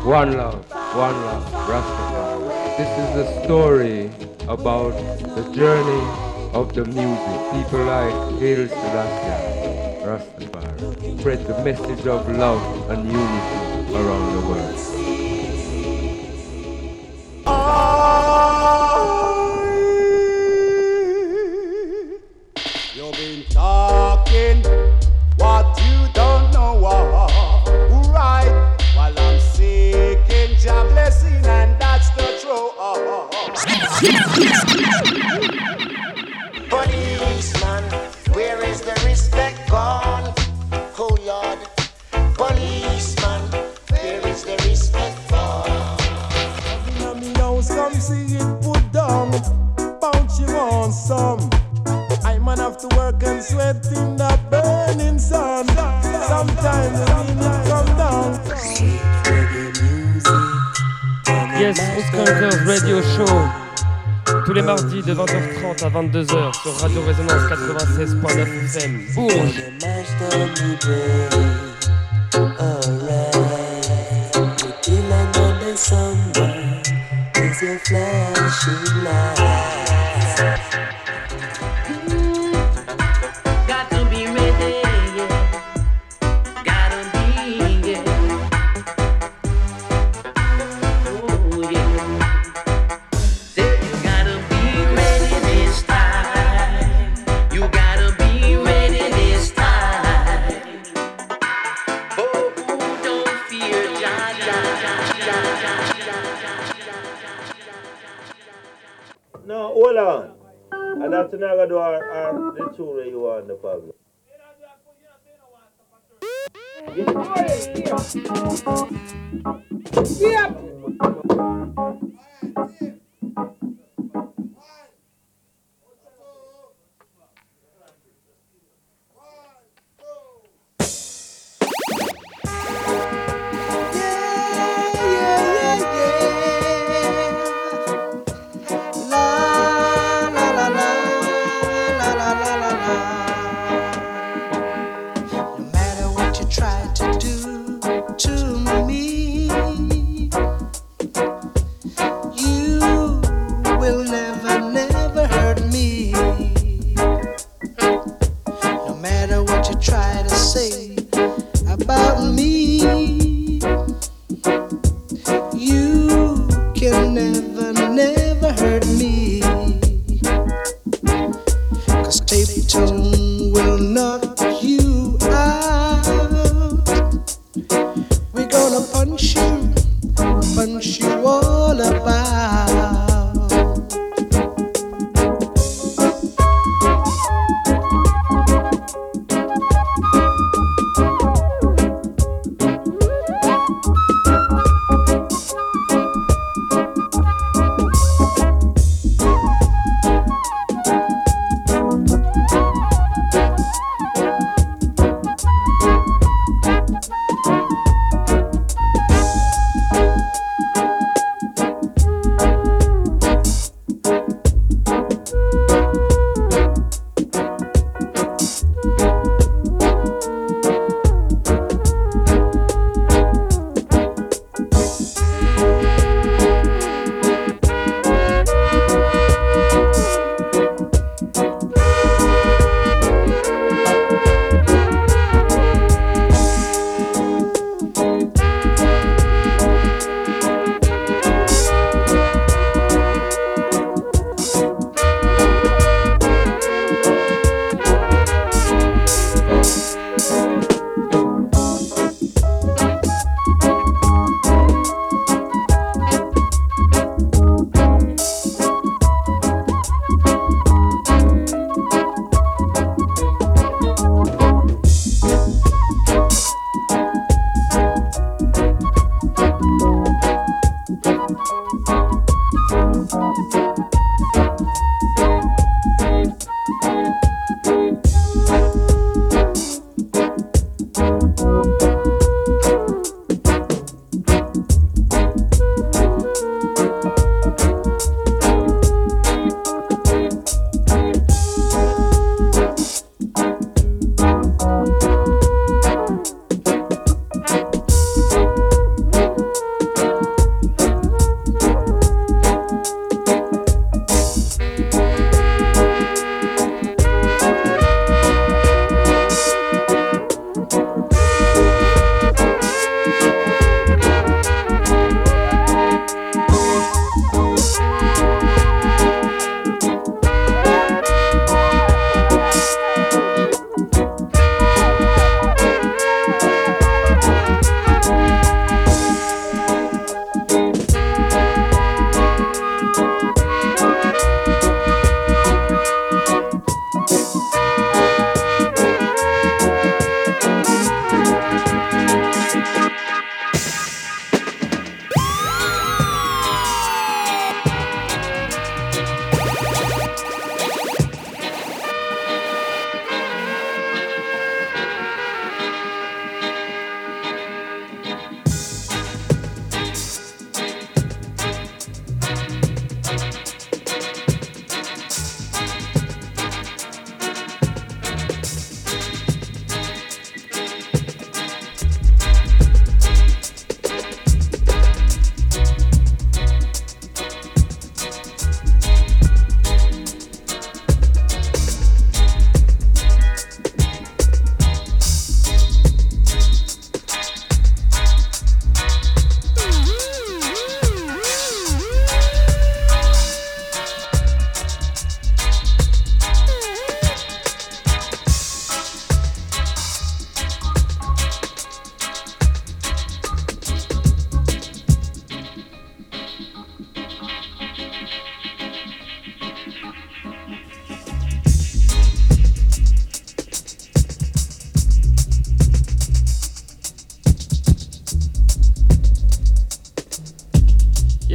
One love, Rastafari. This is the story about the journey of the music. People like Haile Selassie, Rastafari, spread the message of love and unity around the world. You've been talking what you don't know. Right, while I'm seeking your blessing, and that's the truth. Policeman, where is the respect gone? Oh Lord, policeman, where is the respect gone? Me house, come see it put down. Bounce you on some. I man have to work and sweat in the burning sun. Sometimes the meaning come down. Yes, Oscar Radio Show. Tous les mardis de 20h30 à 22h sur Radio Résonance 96.9 FM. Bourges. No, hold on. And that's not going to do the two where you want the problem.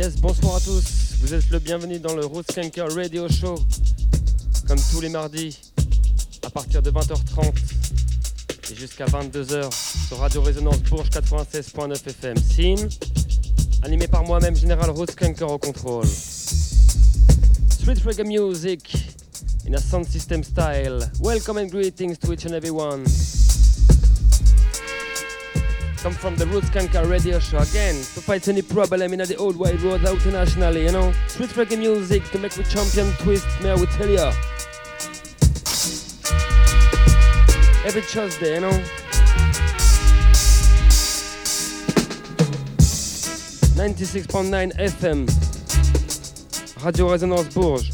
Yes, bonsoir à tous. Vous êtes le bienvenu dans le Roots Skanker Radio Show. Comme tous les mardis, à partir de 20h30 et jusqu'à 22h sur Radio Résonance Bourges 96.9 FM. Scene, animé par moi-même, Général Roots Skanker au contrôle. Street reggae music in a sound system style. Welcome and greetings to each and everyone. Come from the Roots Skanker Radio Show again to fight any problem in the old wide world out internationally, you know. Street reggae music to make we champion twist, may I will tell ya. Every Tuesday, you know. 96.9 FM. Radio Résonance Bourges.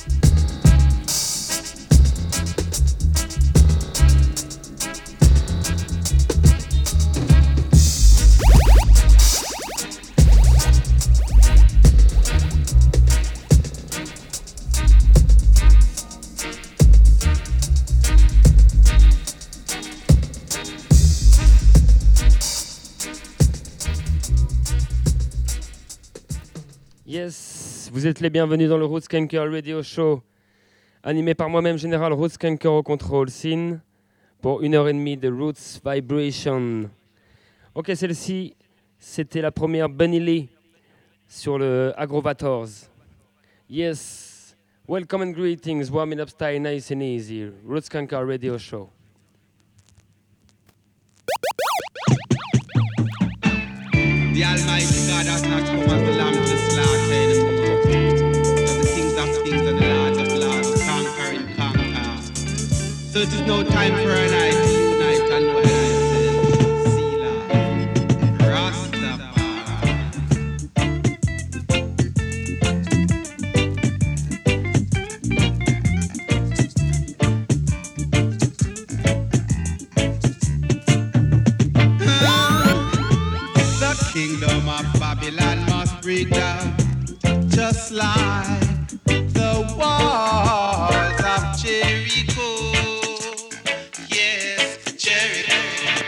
Yes, vous êtes les bienvenus dans le Roots Skanker Radio Show, animé par moi-même, Général Roots Skanker au contrôle, Scene, pour 1h30 de Roots Vibration. Ok, celle-ci, c'était la première Bunny Lee sur le Agrovators. Yes, welcome and greetings, warming up style nice and easy, Roots Skanker Radio Show. The Almighty God has not come as the lamb to slaughter anymore. But the kings of kings and the lords of lords conquer and conquer. So it is no time for an eye to unite and know thyself. Selah, Rastafari. Kingdom of Babylon must break down, just like the walls of Jericho. Yes, Jericho.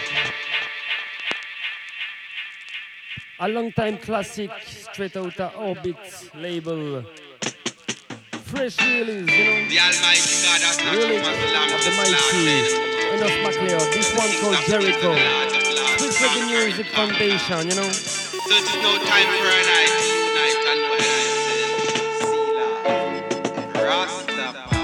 A long time classic, straight out of Orbit label. Fresh release, you know. The Almighty God has not Release come as the lamb of to the mighty slaughter. Enough McLeod. This one called Jericho. Street Reggae Music Foundation, you know. So it is no time for an eye to unite and know thyself. Selah, Rastafari.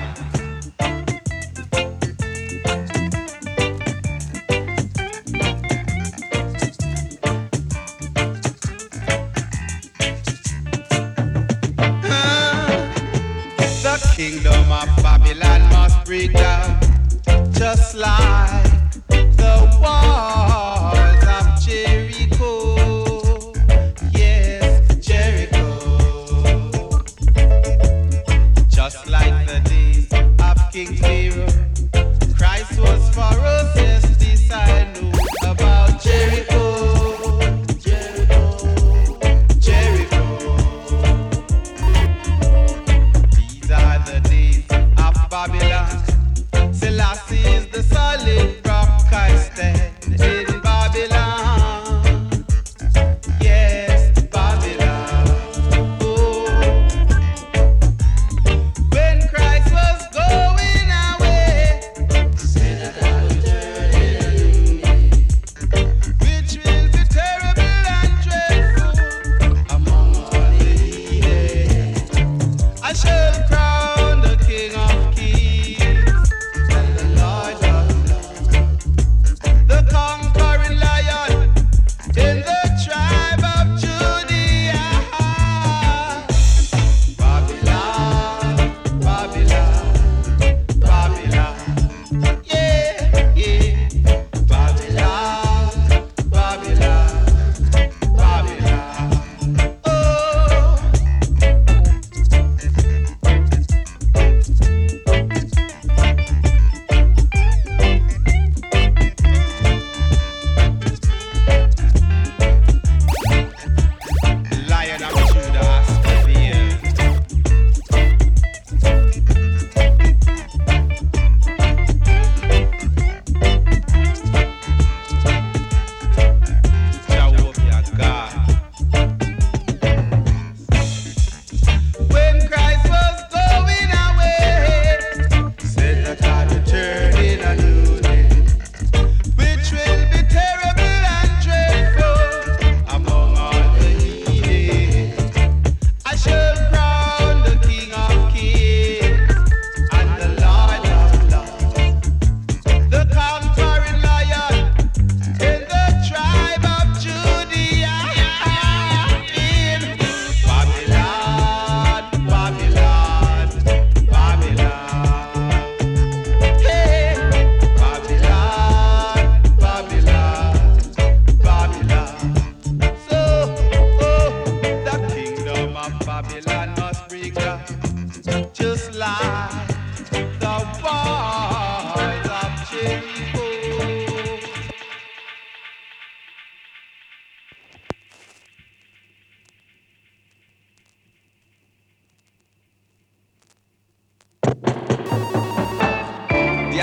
The kingdom of Babylon must break down, just like the walls of Jericho. Yes, Jericho. Just like the days of King Pharaoh, Christ was for us. Yes, this I know about Jericho. Jericho, Jericho. These are the days of Babylon. Selassie is the solid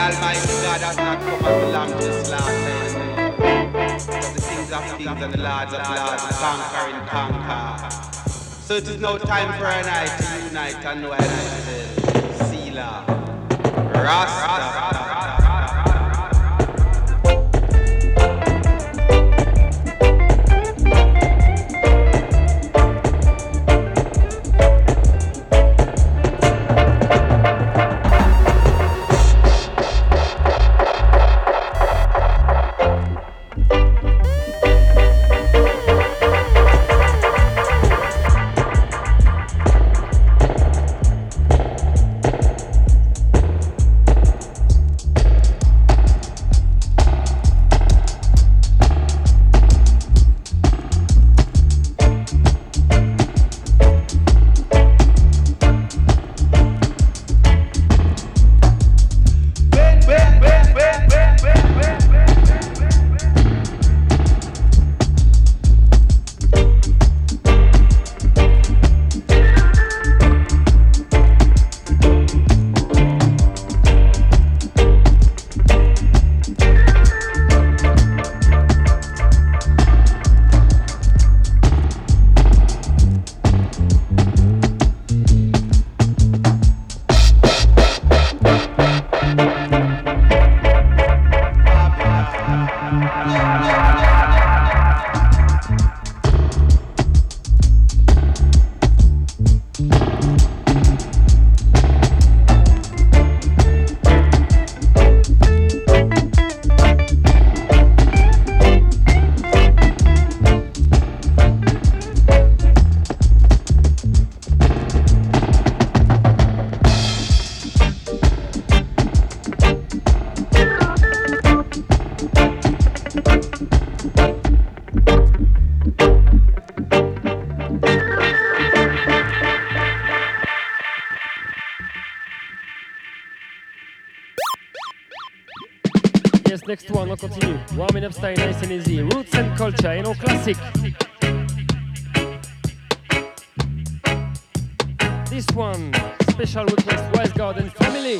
Almighty God has not come as the lamb to slaughter. But the kings of kings and the lords of lords conquer and conquer. So it is now time for a night to unite and know ourselves. Selah. Rasta. Next one, on continue. Warming up style, nice and easy. Roots and culture, you know, classic. This one, special request, Wise Garden Family.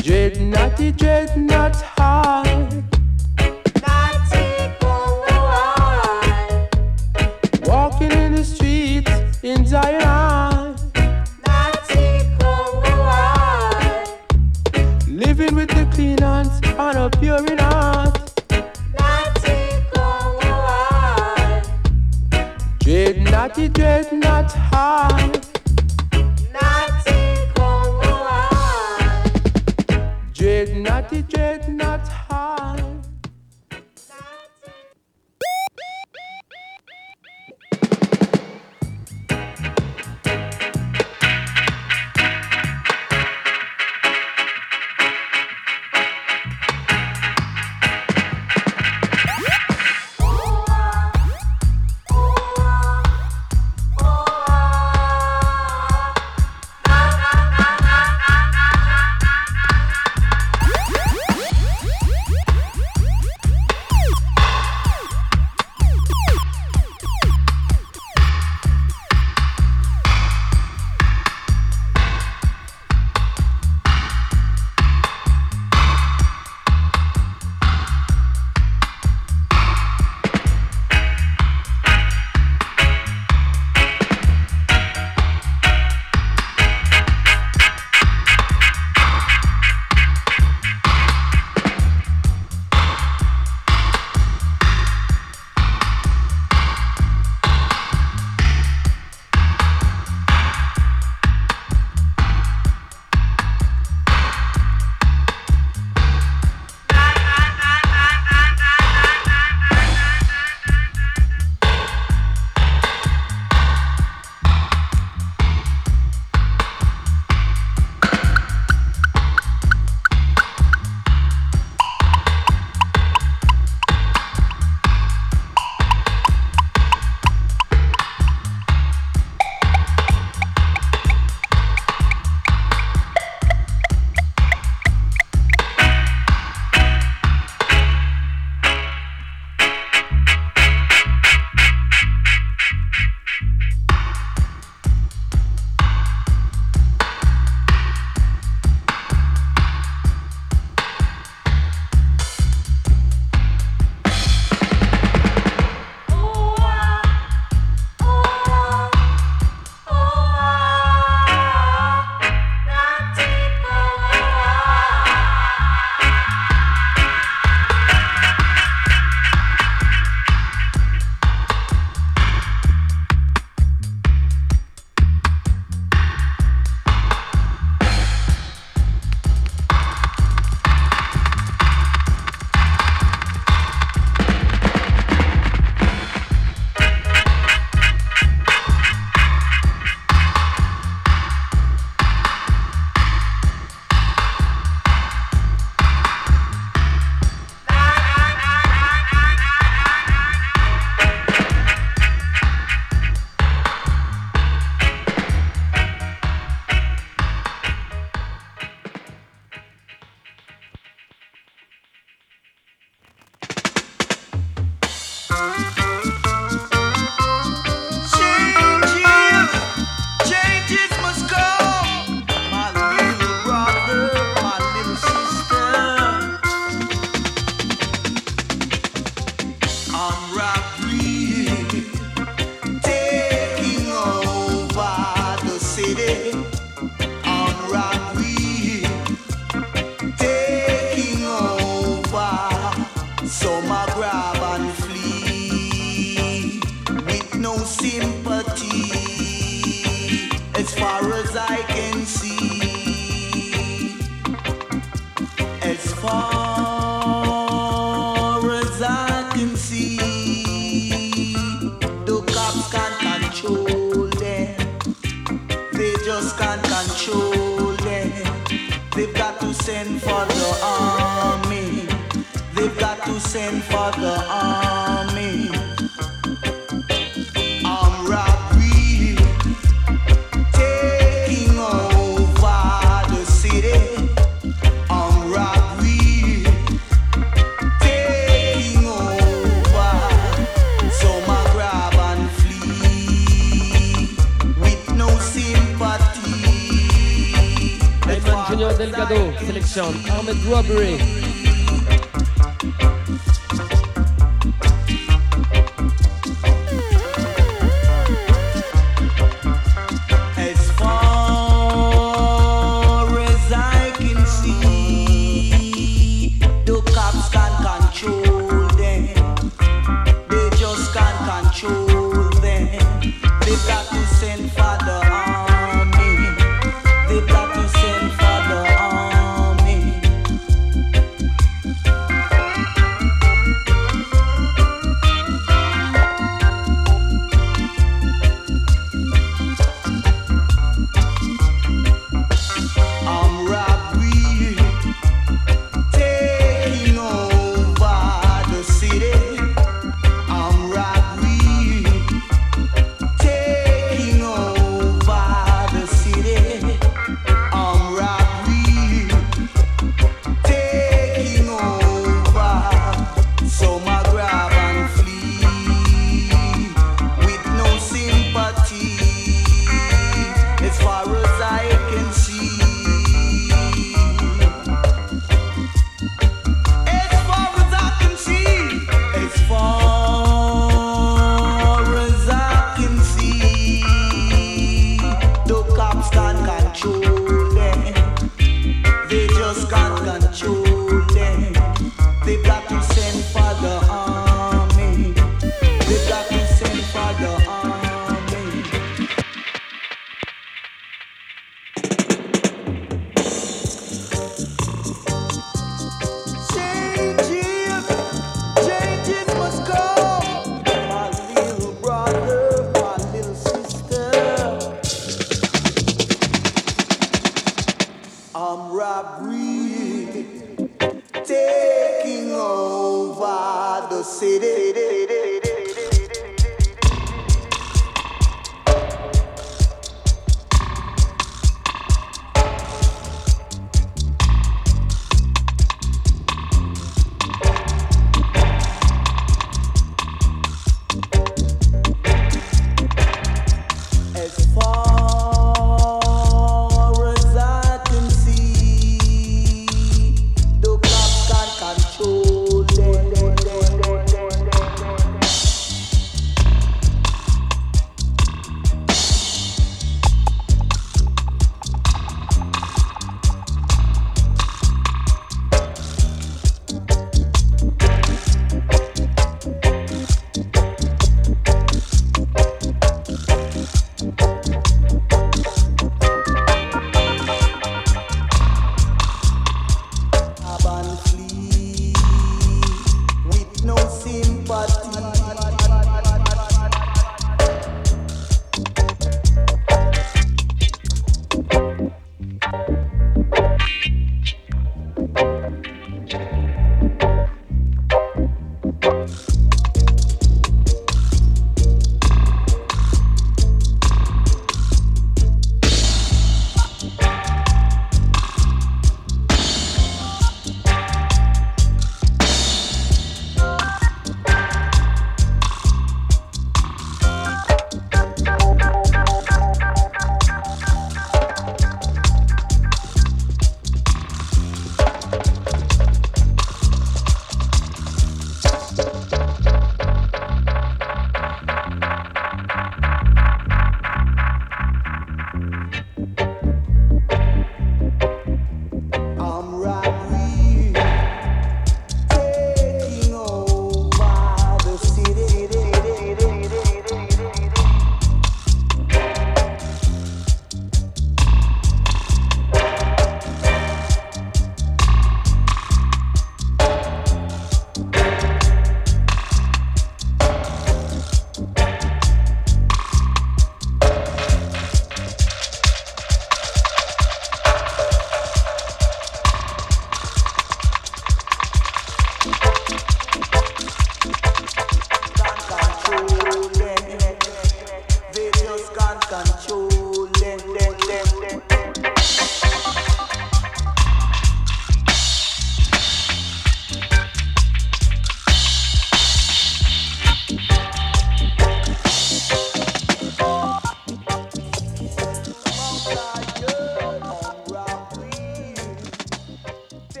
dread not high. Walking in the streets in Zion. Living with the clean hands and a pure in heart. Dread not high. Dread not high. Delgado, selection Armed Robbery.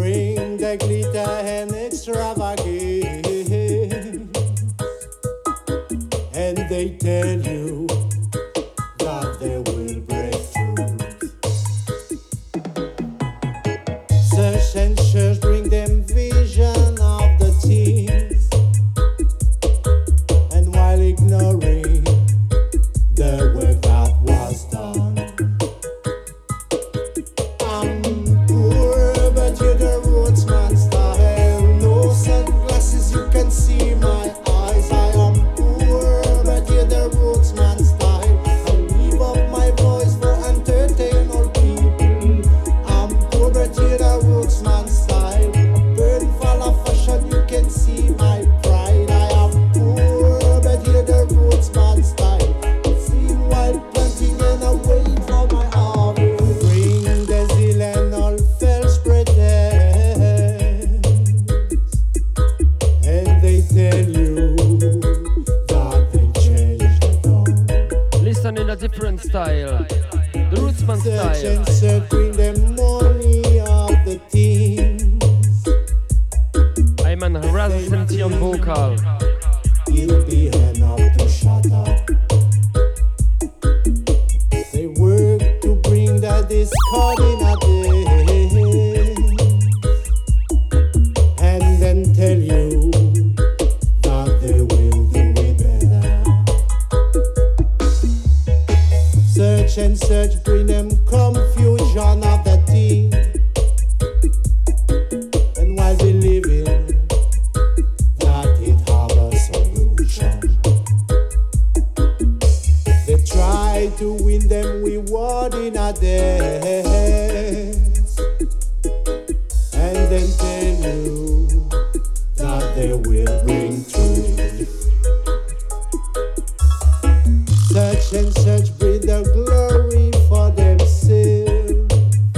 bring the glitter and extravagance, and they tell you that they will break through. Search and search bring them vision of the teens, and while ignoring the work that was done. I'm poor, but you're the rootsman style. No sunglasses, you can see my eyes. I am poor, but you're the rootsman style. I leave up my voice for entertain all people. I'm poor, but you're the rootsman style. Burn full of fashion, you can see my pride. I am poor, but you're the rootsman style. Seen while planting and I wait for my harvest. Bring the zeal and all false pretense, and they tell you that they changed the dawn. Listen in a different style. The Rootsman Search style. and search, bring them money of the teens. I'm an harassment on vocal. It'll be enough to shut up. They work to bring the discord in a dance, and then tell you that they will do it better. Search and search, bring them confusion of the team, and while believing that it have a solution, they try to win them reward in a dance, and then tell you that they will bring truth. Search and search, bring the glory for themselves,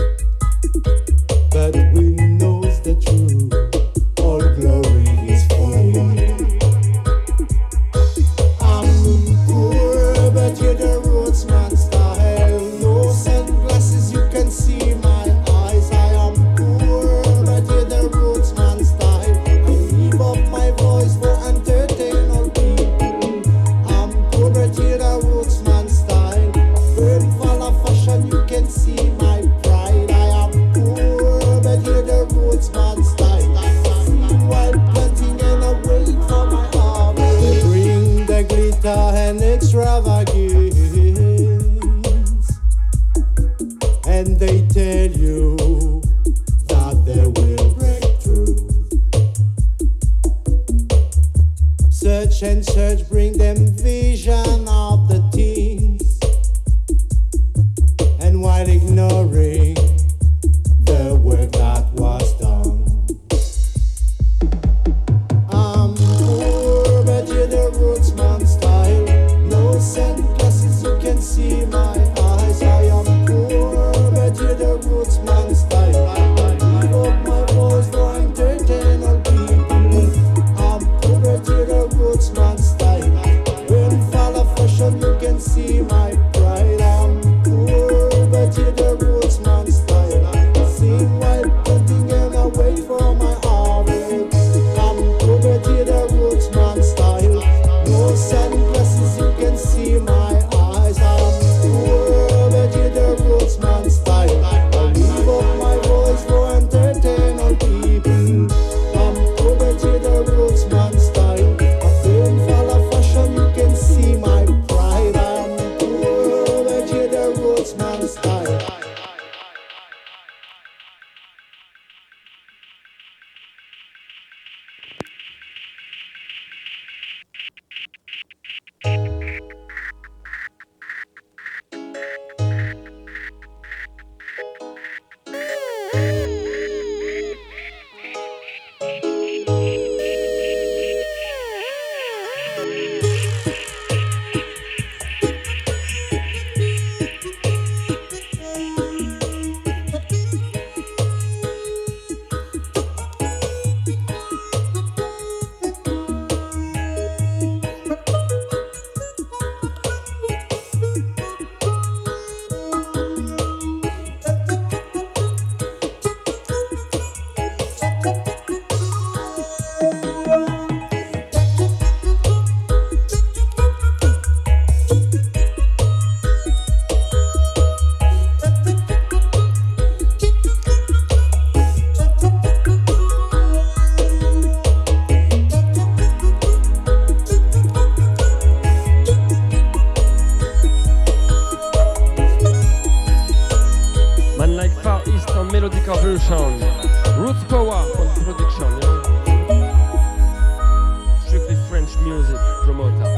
but we knows the truth. All glory is for you. I'm poor, but you're the rootsman style. No sunglasses, you can see my eyes. I am poor, but you're the rootsman style. I leave up my voice for entertain all people. I'm poor, but you're the rootsman style. Burn full of fashion, you can see my pride. I am poor, but you're the rootsman style. While planting and I wait for my harvest. They bring the glitter and extravagance, and they tell you that they will break through. Search and search, bring them vision of the teens, and while ignoring the work that was done. I'm poor, but you're the rootsman style. No sunglasses, you can see my eyes. I am poor, but you're the rootsman style. I leave up my voice for entertain all people. I'm poor, but you're the rootsman style. When fall of fashion, you can see my pride. I'm poor, but you're the rootsman Roots Power on production, you know. Strictly French music promoter.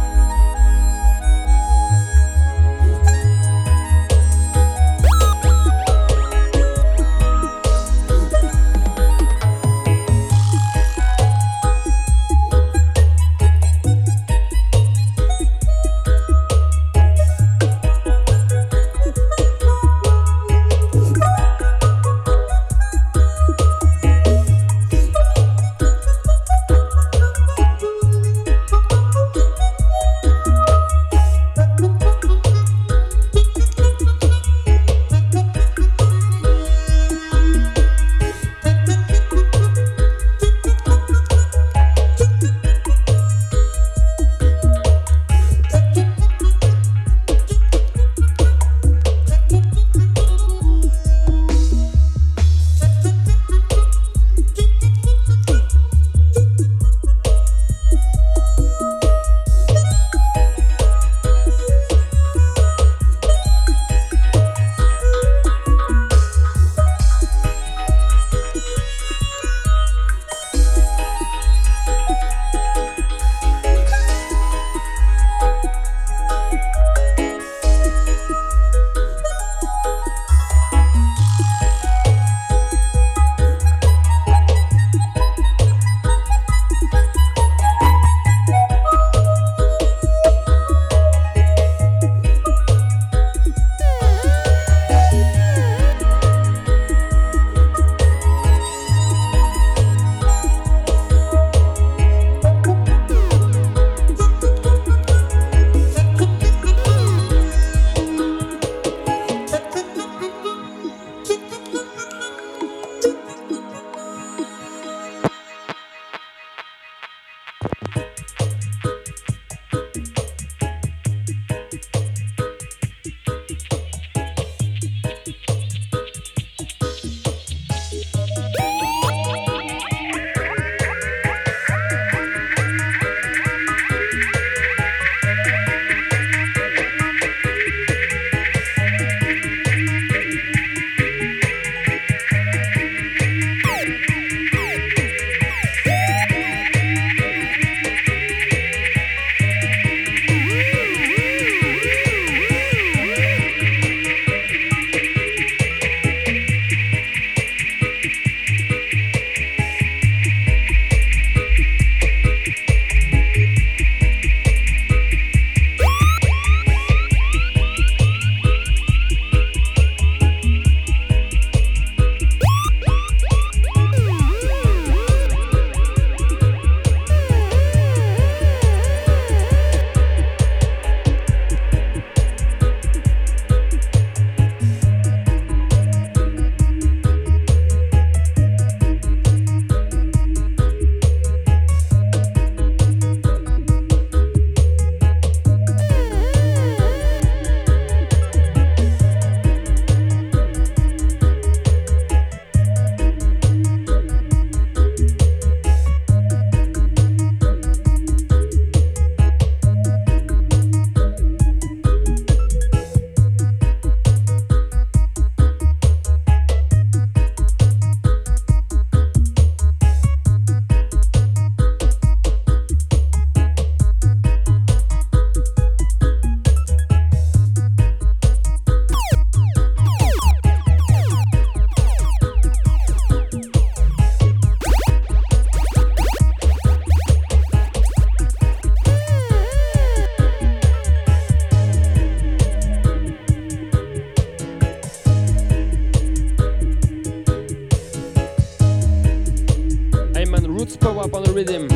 rhythm.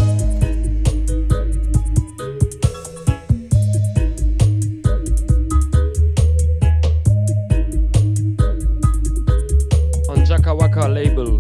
On Jaka Waka label.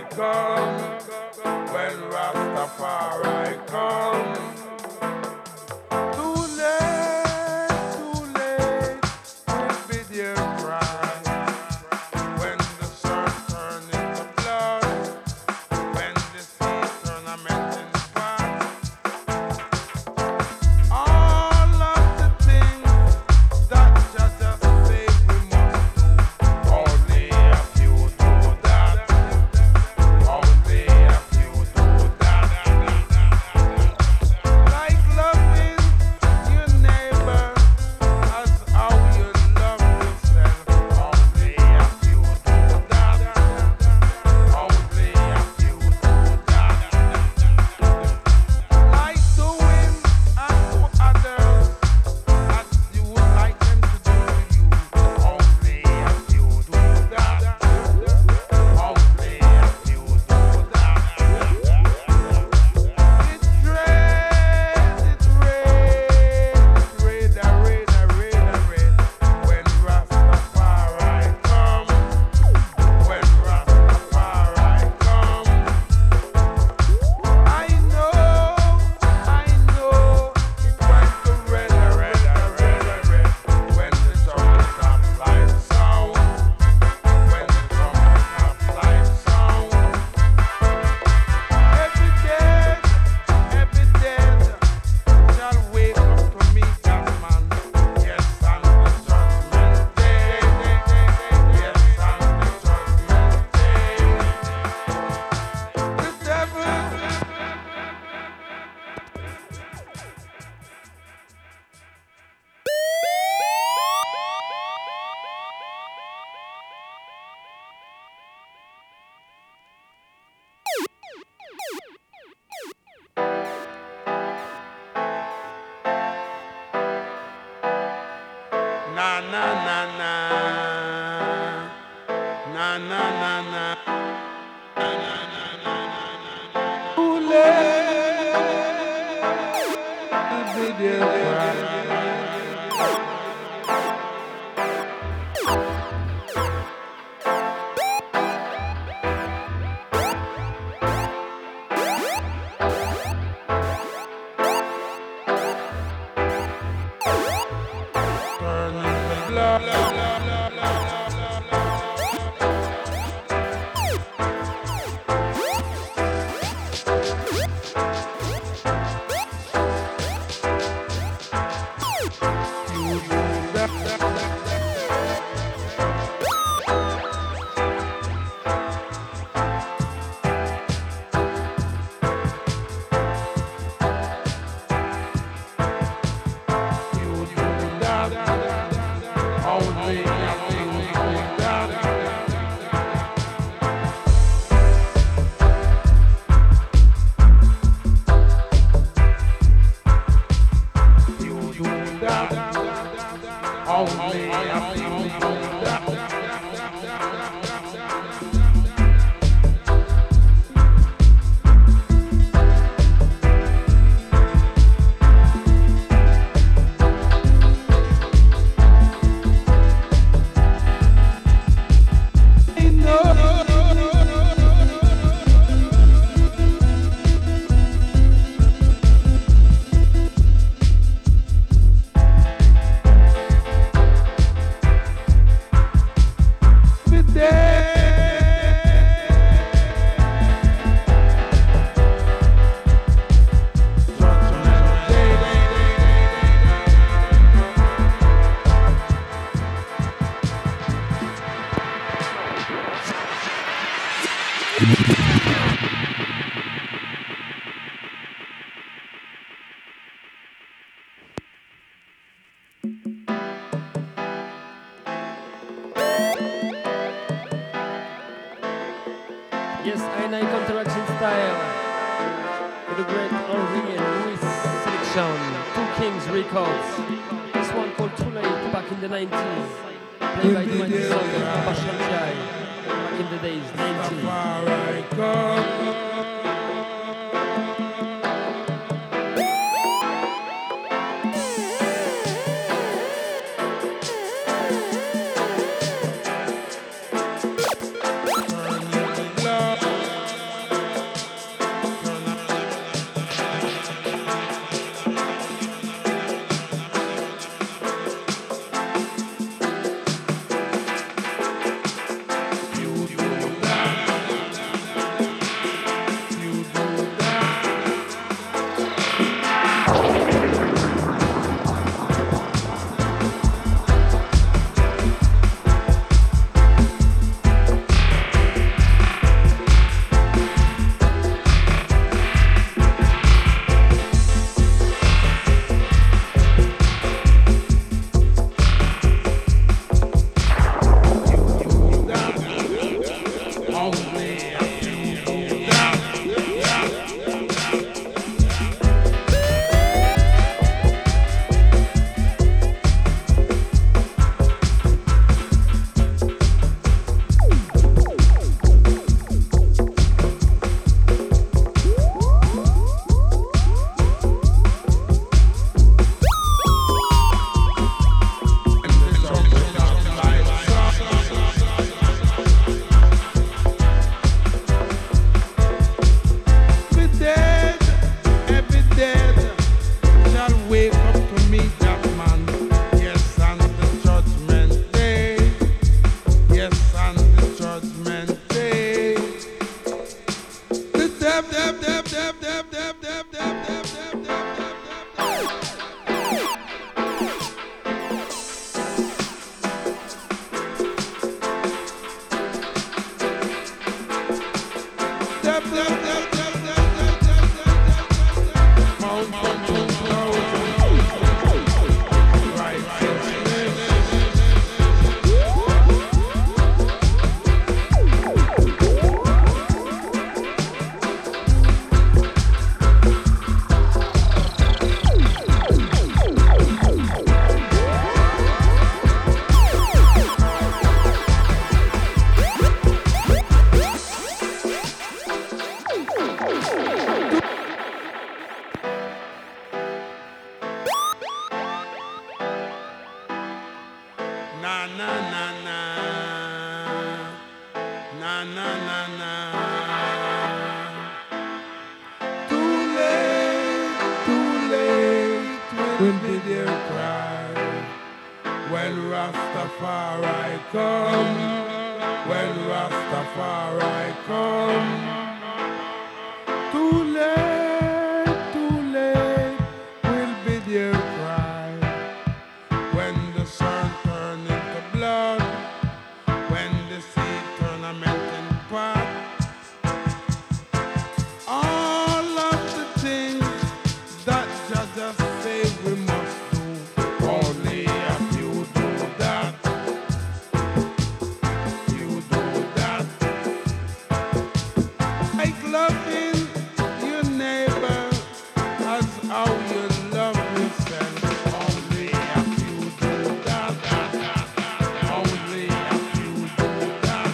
come, when Rastafari come. Too late, will be their cry. When the sun turn into blood, when the sea turn a melting pot. All of the things that just say we must do, only a few do that. Only a few do that. Like loving your neighbor as how you love yourself. Only a few do that. Only a few do that. Like doing unto others as you would like them to do to you. Only a few do that. Only a few do that. It rain, when Rastafari come. When Rastafari come. I know, it went to red, when the trumpet of life sound, when the trumpet of life sound. Every dead shall wake up to meet that man. Yes, on the judgment day. Yes, on the judgment day. The devil. Na na na na na na na na. Too late, be their cry. Turning the blood. You do that. You do that. Only a few do that. You do that. Only a few do that. I know. Every Yes, I Counteraction Style. For the great Henri and Louis selection. Two Kings Records. This one called Too Late back in the 90s. Played by Dwayne Song and Abba Shanjai. Back in the days, 90s. bound for 2,000 righteousness. Na na na na, na na na na. Too late will be their cry when Rastafari come. When Rastafari come. Too late will be their cry when the sun turn into blood, when the sea turn a melting pot. All of the things that Jah just say we must do, only if you do that, you do that. Like loving your neighbor as how you love yourself, only if you do that, only if you do that.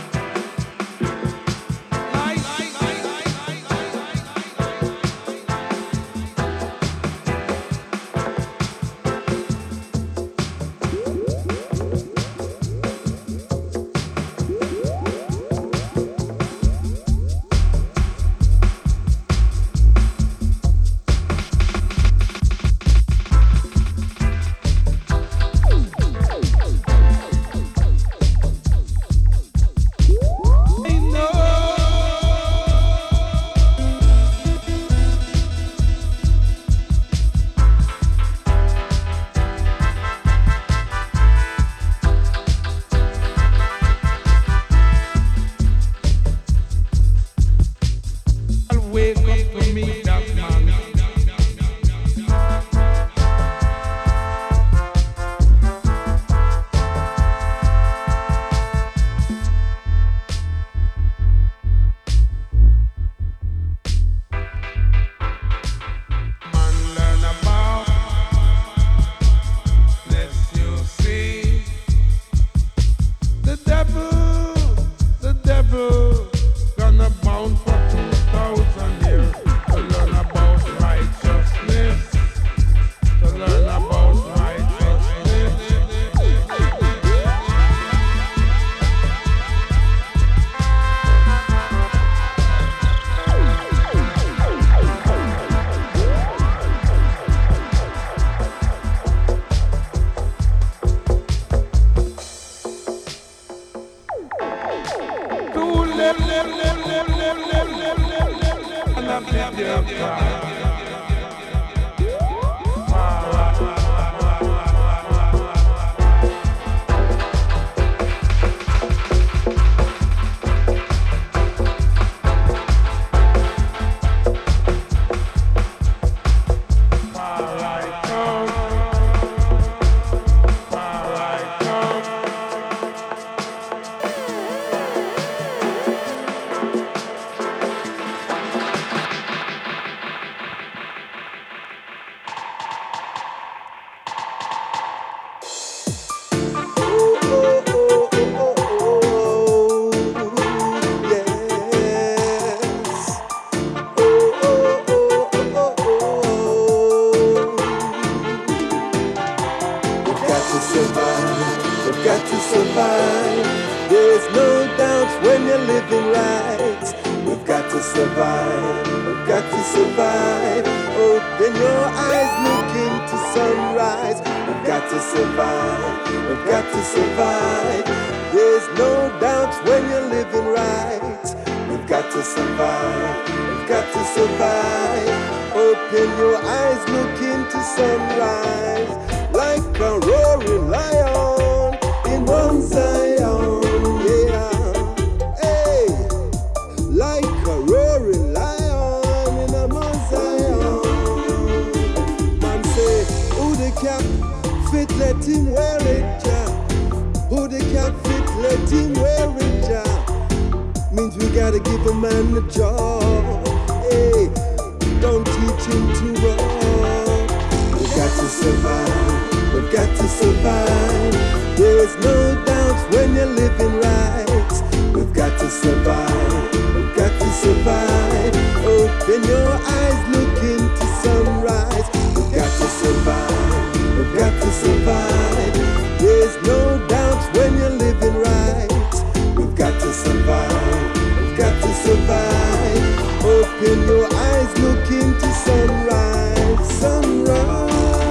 I know. I'll wake up to meet that man. Man learn about, let you see. The devil gonna bound for 2,000 years to learn about righteousness, to learn about righteousness. Too late, and I feel their cry. Far I come, far I come. We've got to survive. There's no doubt when you're living right. We've got to survive. We've got to survive. Open your eyes, look into sunrise. We've got to survive. We've got to survive. There's no doubt when you're living right. We've got to survive. We've got to survive. Open your eyes, look into sunrise. Like a roaring lion in Mount Zion, yeah. Hey, like a roaring lion in a Mount Zion. fit, let him wear it, ja. Who they can't fit, let him wear it, ja. Means we gotta give a man a job. Hey, don't teach him to run. We got to survive, we've got to survive. There's no doubt when you're living right. We've got to survive, we've got to survive. Open your eyes, look into sunrise. We've got to survive, we've got to survive. There's no doubt when you're living right. We've got to survive, we've got to survive. Open your eyes, look into sunrise, sunrise.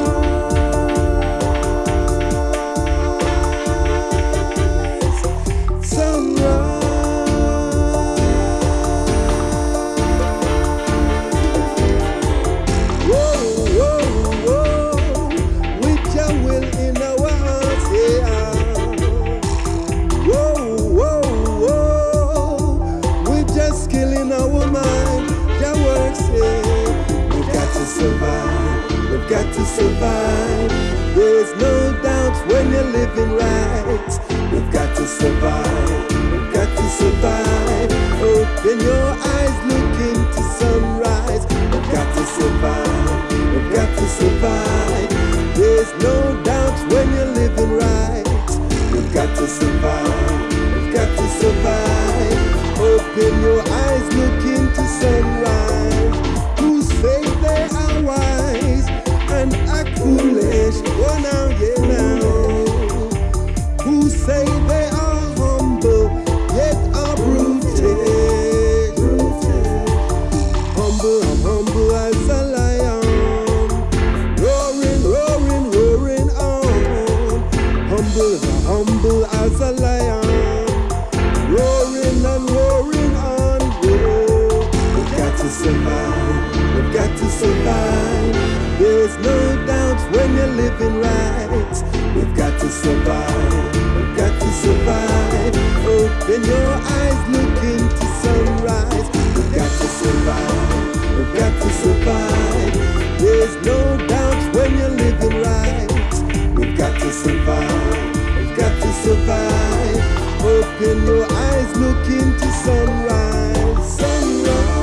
Got to survive. There's no doubt when you're living right. We've got to survive. We've got to survive. Open your eyes, look into sunrise. We've got to survive. We've got to survive. There's no doubt when you're living right. We've got to survive. We've got to survive. Open your eyes, look into sunrise. Who say they are wise and act foolish? Oh now, yeah now. Who say they are humble yet are brutish? Humble, I'm humble as a lion, roaring, roaring, roaring on. Humble as a lion, roaring and roaring on. Whoa. We've got to survive, we've got to survive. There's no doubt when you're living right. We've got to survive, we've got to survive. Open your eyes, look into sunrise. We've got to survive, we've got to survive. There's no doubt when you're living right. We've got to survive, we've got to survive. Open your eyes, look into sunrise, sunrise.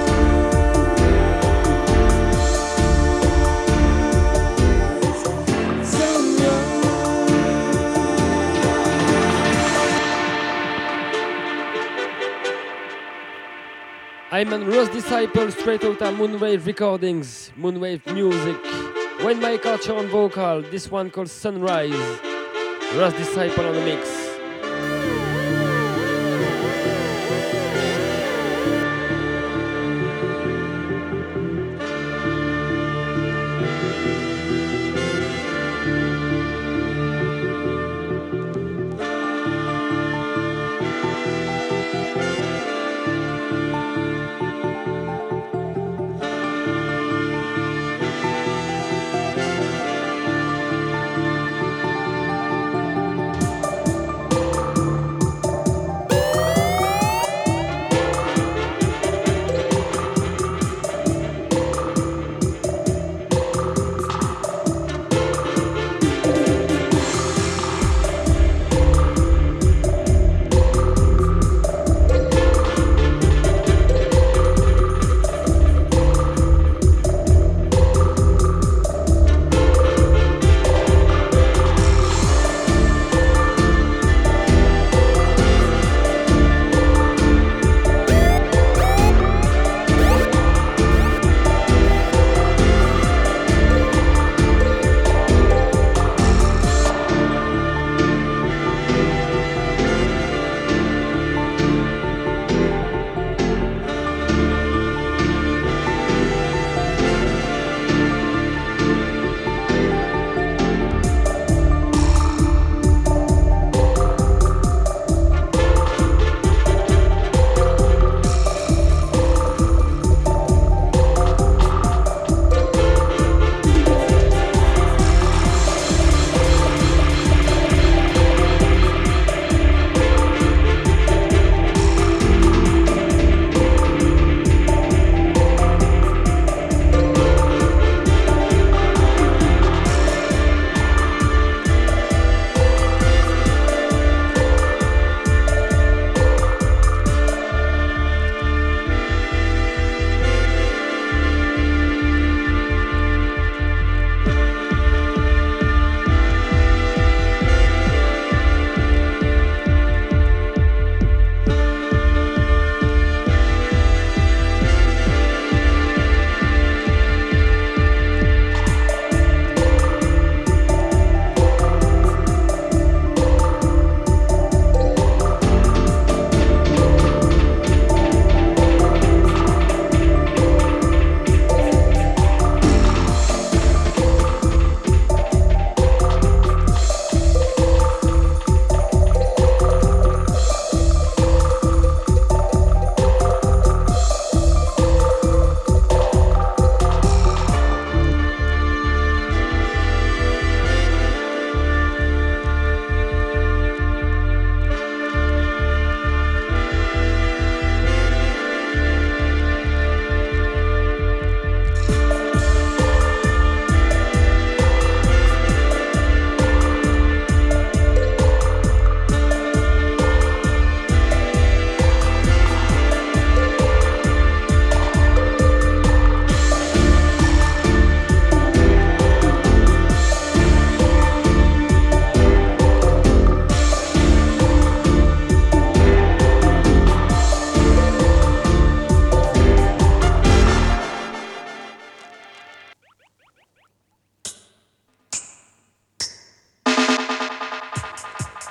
I'm a Ross Disciple straight out of Moonwave Recordings, Moonwave Music. Wayne Mike Archer on vocal, this one called Sunrise. Ross Disciple on the mix.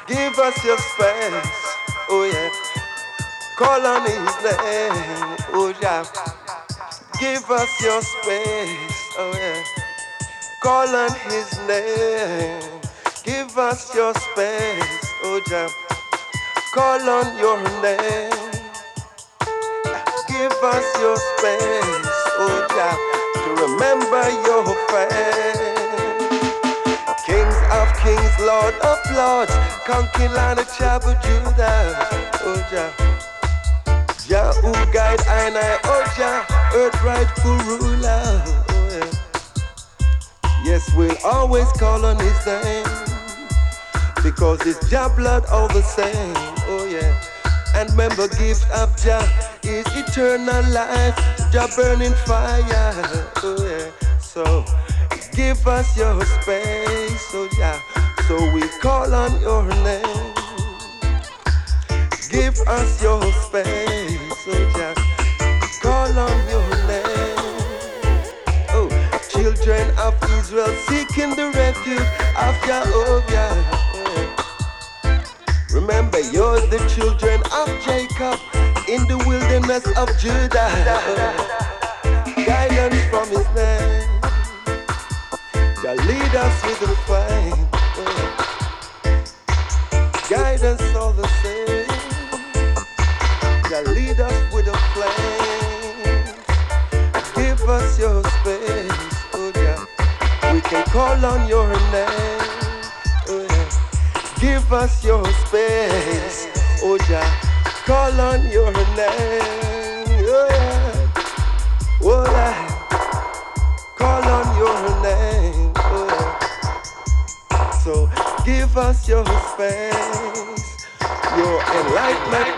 Give us your space, oh yeah. Call on his name, oh yeah. Give us your space, oh yeah. Call on his name. Give us your space, oh yeah. Call on your name. Give us your space, oh yeah, to remember your face. Kings of kings, Lord of lords, conquering land of tribe of Judah, oh yeah. Jah who guide I, oh Jah, earth rightful ruler, oh yeah. Yes, we'll always call on his name, because it's Jah blood all the same, oh yeah. And remember, gift of Jah is eternal life, Jah burning fire, oh yeah. So give us your space, oh yeah. So we call on your name. Give us your space, oh yeah. Call on your name. Oh, children of Israel seeking the refuge of Jehovah. Remember, you're the children of Jacob in the wilderness of Judah. Guidance from his name. Jah lead us with the flame. Guidance all the same. Jah lead us with a flame. Give us your space, oh yeah. We can call on your name. Give us your space, oh Jah. Call on your name, oh yeah. Oh yeah. Call on your name, oh yeah. So give us your space, your enlightenment.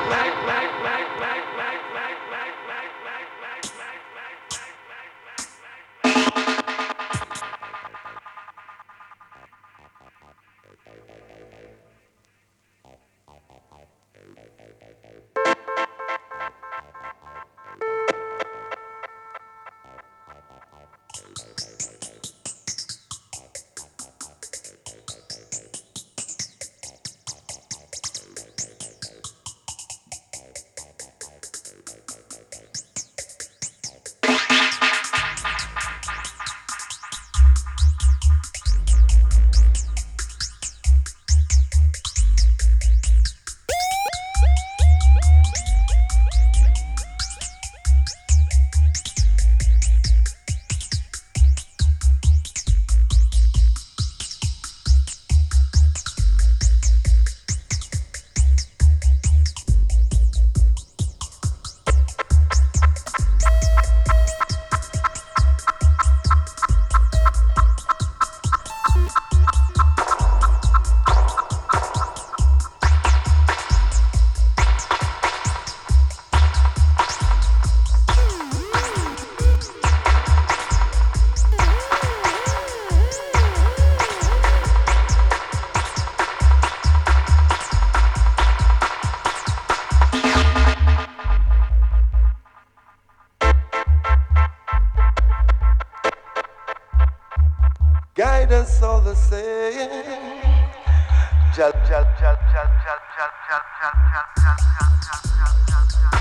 Guidance all the same. Jal, jal, jal, jal, jal, jal, jal, jal, jal, jal, jal, jal, jal, jal.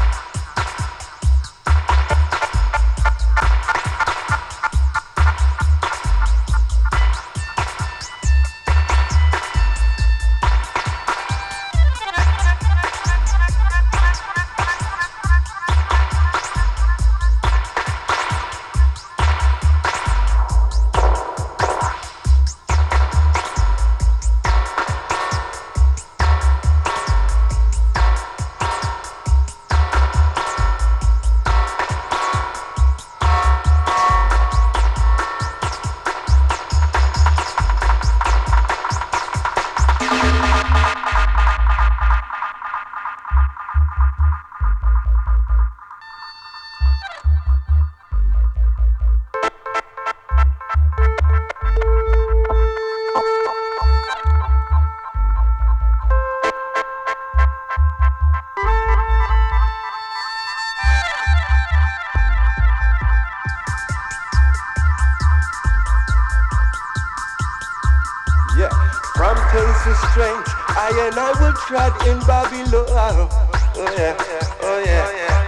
I and I will tread in Babylon. Oh yeah, oh yeah, oh yeah.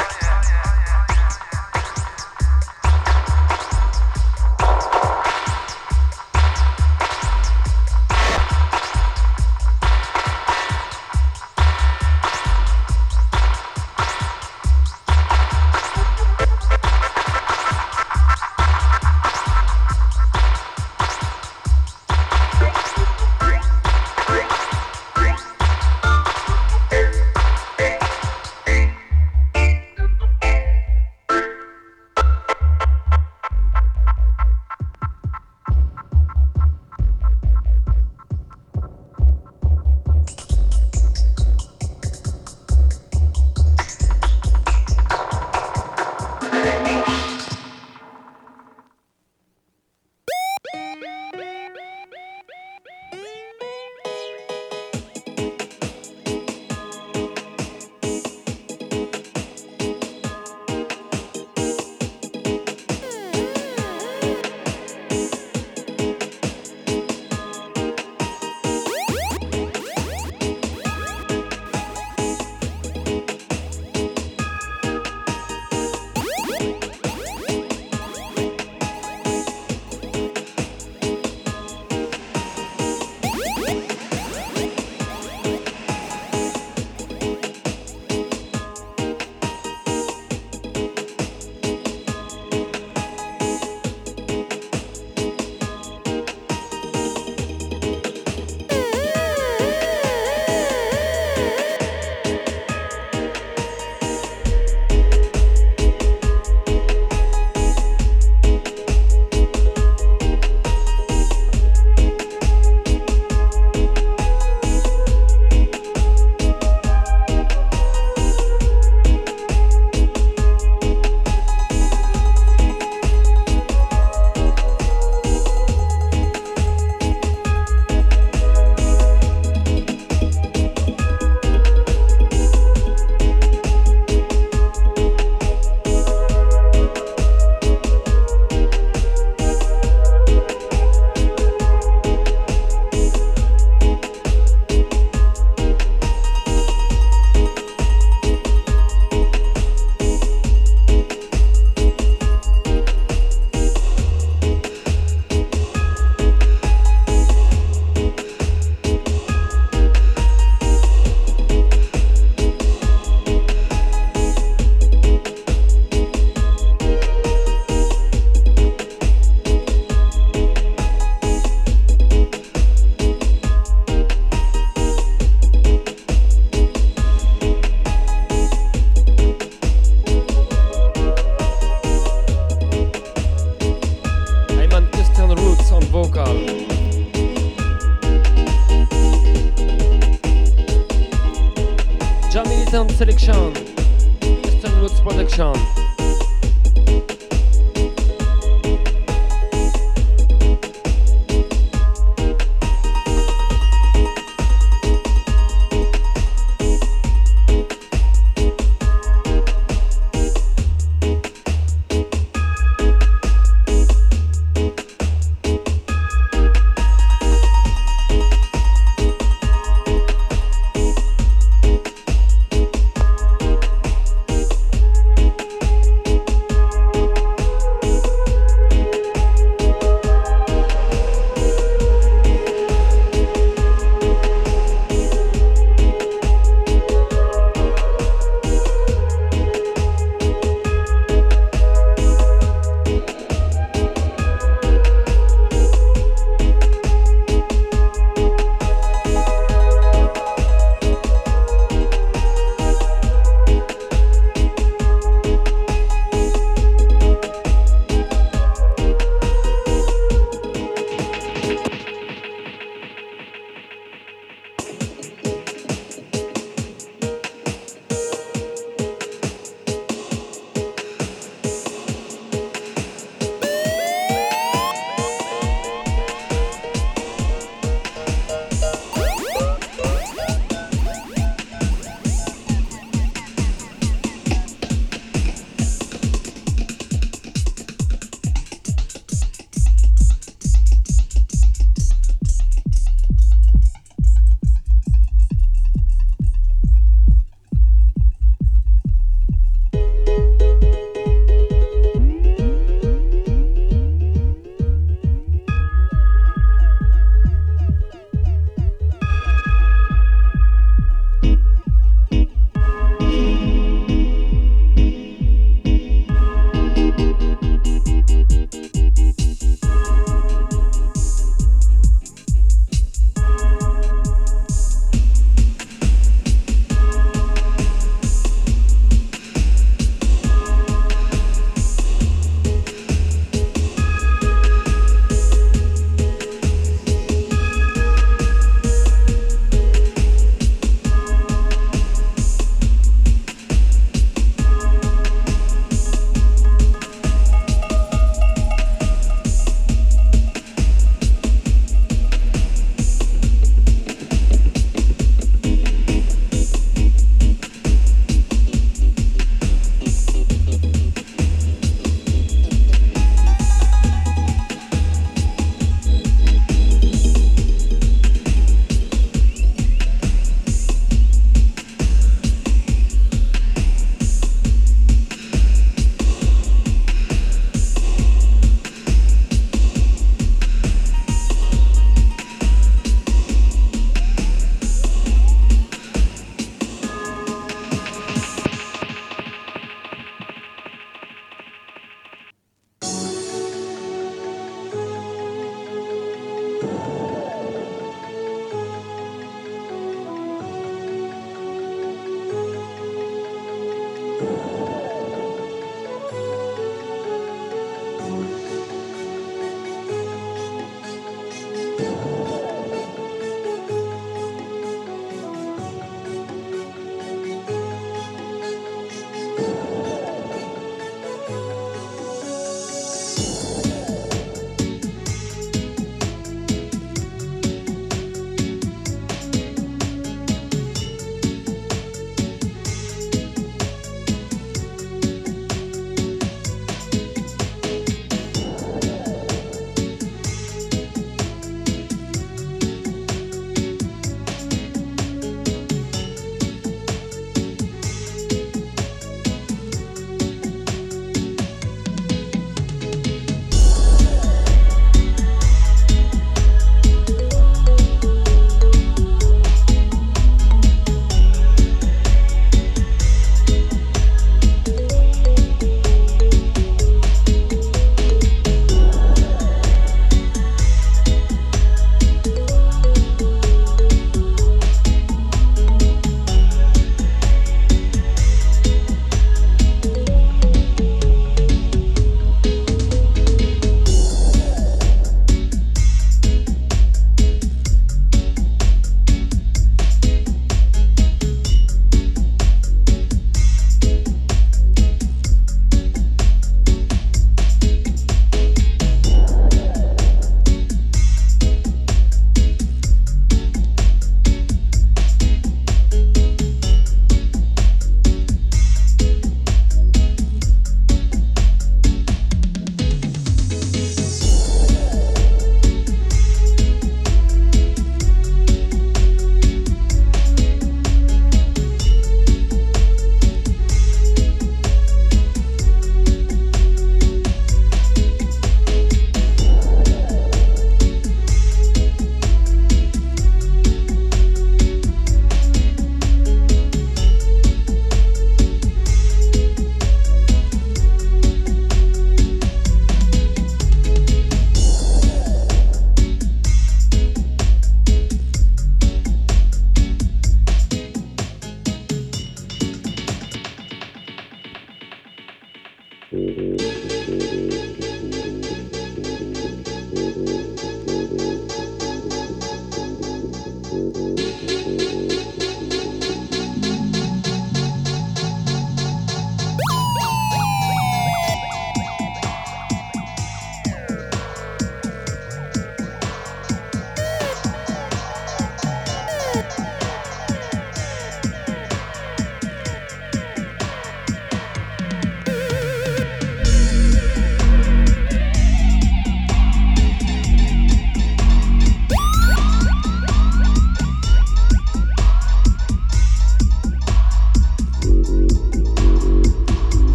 Selection, Western Roots Production.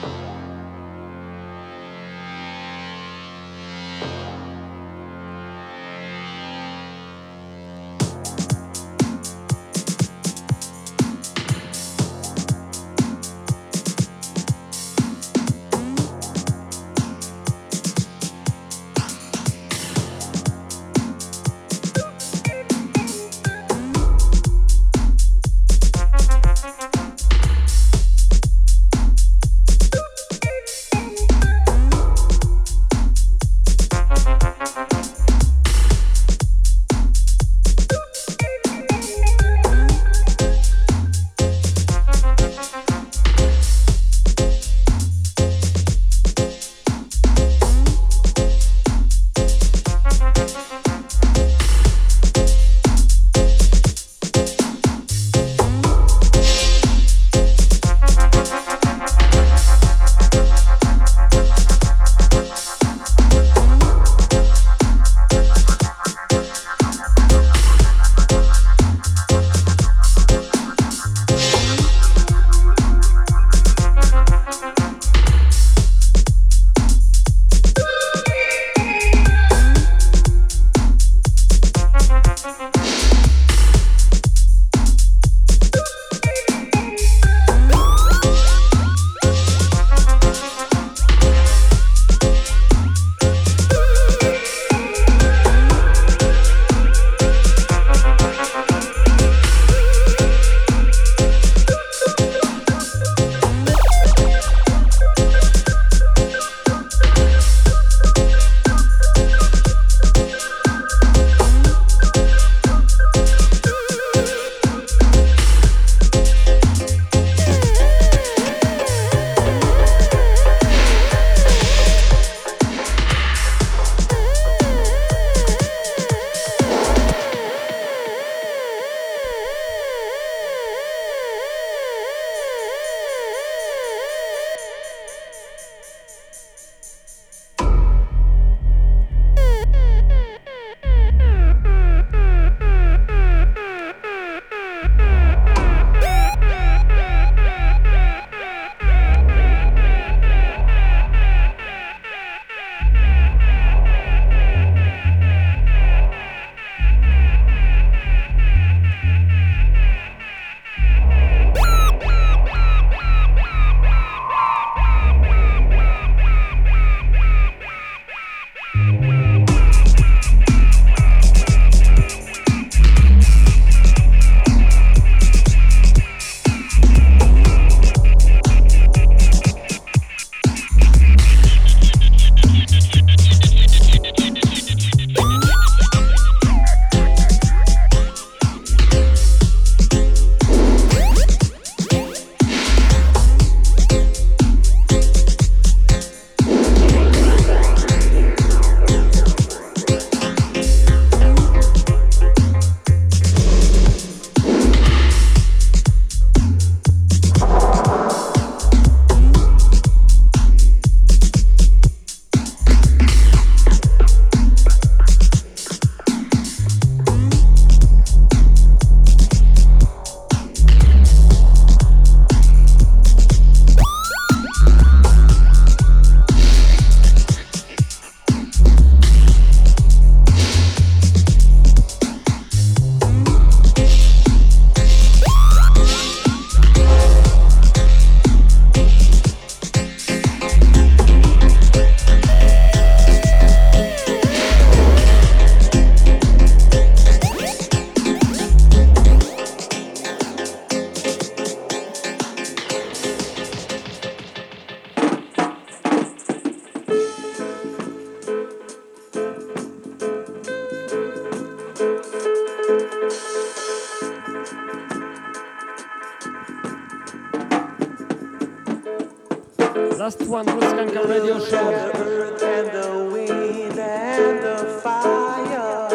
Last one, Ruskanka Radio Show. The earth and the wind and the fire.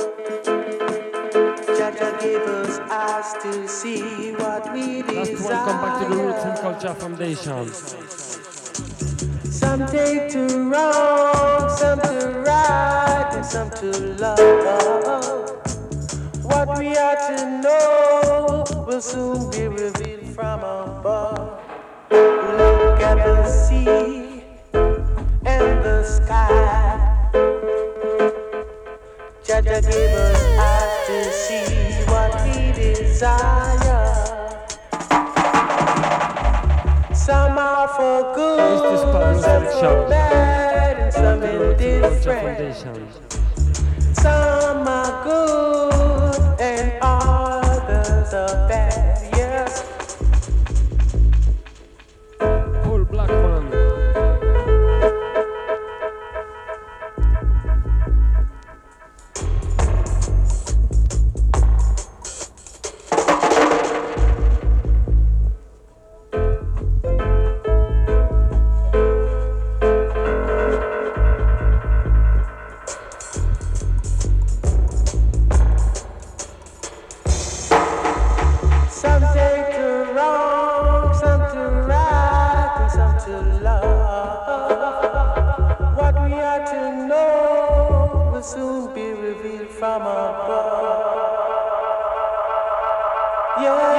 Jaja gave us eyes to see what we desire. Last one, come back to the Roots and Culture Foundation. Some take to wrong, some to right, and some to love. What we are to know will soon be revealed from above. Look at the sea. desire. Some are for good, some for bad, and some indifferent. Some are good and others are bad, yes. Paul Blackman. Some take to wrong, some to right, and some to love. What we are to know will soon be revealed from above. Yeah.